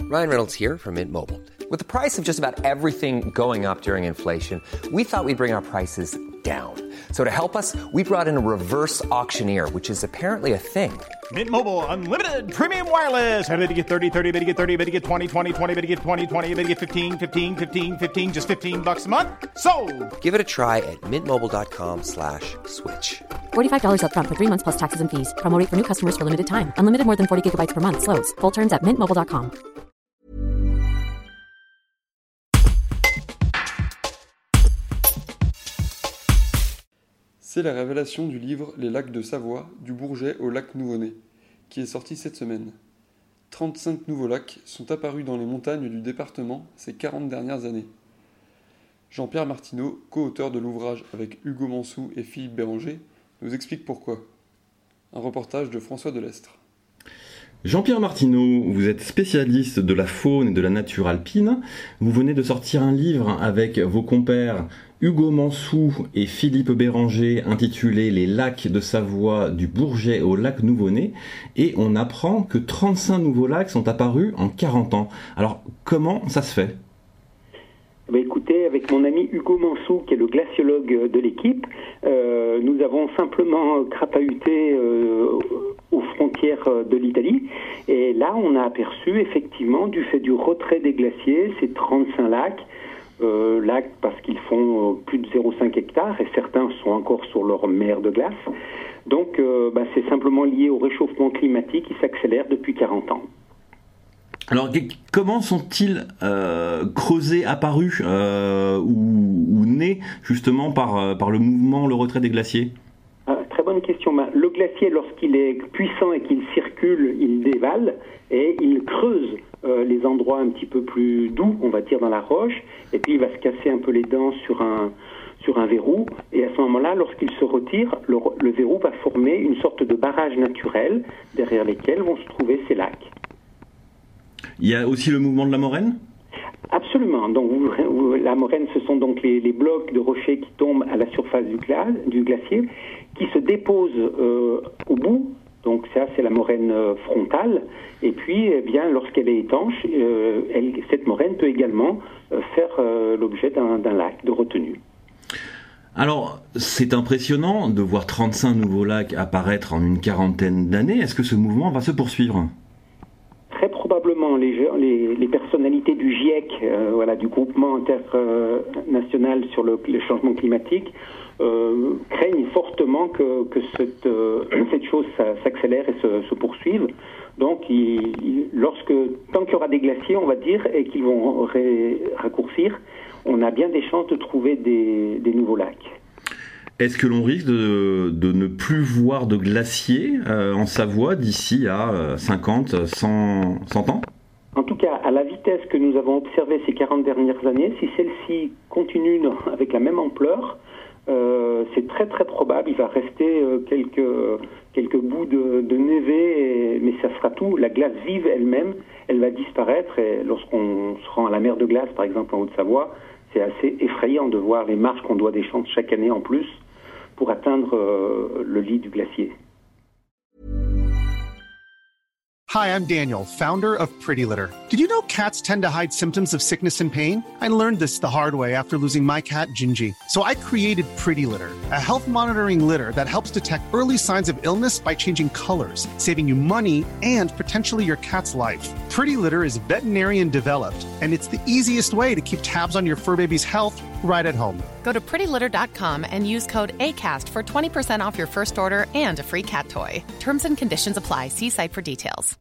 Ryan Reynolds here from Mint Mobile. With the price of just about everything going up during inflation, we thought we'd bring our prices down. So to help us, we brought in a reverse auctioneer, which is apparently a thing. Mint Mobile Unlimited Premium Wireless. How to get 30, 30, how to get 30, how to get 20, 20, 20, how to get 20, 20, how to get 15, 15, 15, 15, just $15 a month? Sold! Give it a try at mintmobile.com/switch. $45 up front for 3 months plus taxes and fees. Promo rate for new customers for limited time. Unlimited more than 40 gigabytes per month. Slows full terms at mintmobile.com. C'est la révélation du livre Les lacs de Savoie, du Bourget au lac Nouveau-Né, qui est sorti cette semaine. 35 nouveaux lacs sont apparus dans les montagnes du département ces 40 dernières années. Jean-Pierre Martineau, co-auteur de l'ouvrage avec Hugo Mansou et Philippe Béranger, nous explique pourquoi. Un reportage de François Delestre. Jean-Pierre Martineau, vous êtes spécialiste de la faune et de la nature alpine. Vous venez de sortir un livre avec vos compères Hugo Mansou et Philippe Béranger intitulé « Les lacs de Savoie du Bourget au lac Nouveau-Né » et on apprend que 35 nouveaux lacs sont apparus en 40 ans. Alors, comment ça se fait ? Écoutez, avec mon ami Hugo Mansou, qui est le glaciologue de l'équipe, nous avons simplement crapahuté aux frontières de l'Italie. Et là, on a aperçu, effectivement, du fait du retrait des glaciers, ces 35 lacs, lacs parce qu'ils font plus de 0,5 hectares et certains sont encore sur leur mer de glace. Donc, c'est simplement lié au réchauffement climatique qui s'accélère depuis 40 ans. Alors, comment sont-ils creusés, apparus ou nés justement par le mouvement, le retrait des glaciers ? Très bonne question. Le glacier, lorsqu'il est puissant et qu'il circule, il dévale et il creuse les endroits un petit peu plus doux, on va dire, dans la roche, et puis il va se casser un peu les dents sur un verrou, et à ce moment-là, lorsqu'il se retire, le verrou va former une sorte de barrage naturel derrière lesquels vont se trouver ces lacs. Il y a aussi le mouvement de la moraine ? Absolument. Donc, la moraine, ce sont donc les blocs de rochers qui tombent à la surface du glacier, qui se déposent au bout. Donc ça, c'est la moraine frontale. Et puis, eh bien, lorsqu'elle est étanche, cette moraine peut également faire l'objet d'un lac de retenue. Alors, c'est impressionnant de voir 35 nouveaux lacs apparaître en une quarantaine d'années. Est-ce que ce mouvement va se poursuivre ? Très probablement, les personnalités du GIEC, du groupement international sur le changement climatique, craignent fortement que cette chose s'accélère et se poursuive. Donc, tant qu'il y aura des glaciers, on va dire, et qu'ils vont raccourcir, on a bien des chances de trouver des nouveaux lacs. Est-ce que l'on risque de ne plus voir de glaciers en Savoie d'ici à 50, 100 ans ? En tout cas, à la vitesse que nous avons observée ces 40 dernières années, si celle-ci continue avec la même ampleur, c'est très très probable. Il va rester quelques bouts de névé, mais ça sera tout. La glace vive elle-même, elle va disparaître. Et lorsqu'on se rend à la mer de glace, par exemple en Haute-Savoie, c'est assez effrayant de voir les marches qu'on doit descendre chaque année en plus pour atteindre le lit du glacier. Hi, I'm Daniel, founder of Pretty Litter. Did you know cats tend to hide symptoms of sickness and pain? I learned this the hard way after losing my cat, Gingy. So I created Pretty Litter, a health monitoring litter that helps detect early signs of illness by changing colors, saving you money and potentially your cat's life. Pretty Litter is veterinarian developed, and it's the easiest way to keep tabs on your fur baby's health right at home. Go to prettylitter.com and use code ACAST for 20% off your first order and a free cat toy. Terms and conditions apply. See site for details.